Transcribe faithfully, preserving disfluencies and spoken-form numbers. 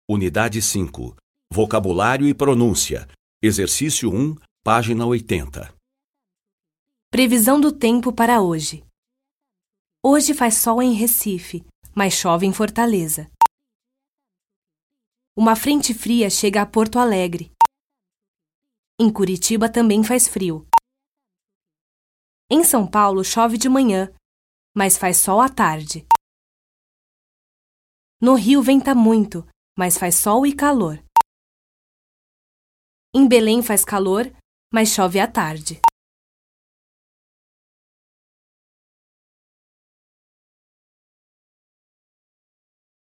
Unidade cinco. Vocabulário e pronúncia. Exercício um, página oitenta. Previsão do tempo para hoje. Hoje faz sol em Recife, mas chove em Fortaleza. Uma frente fria chega a Porto Alegre. Em Curitiba também faz frio. Em São Paulo chove de manhã, mas faz sol à tarde. No Rio venta muito, mas faz sol e calor. Em Belém faz calor, mas chove à tarde.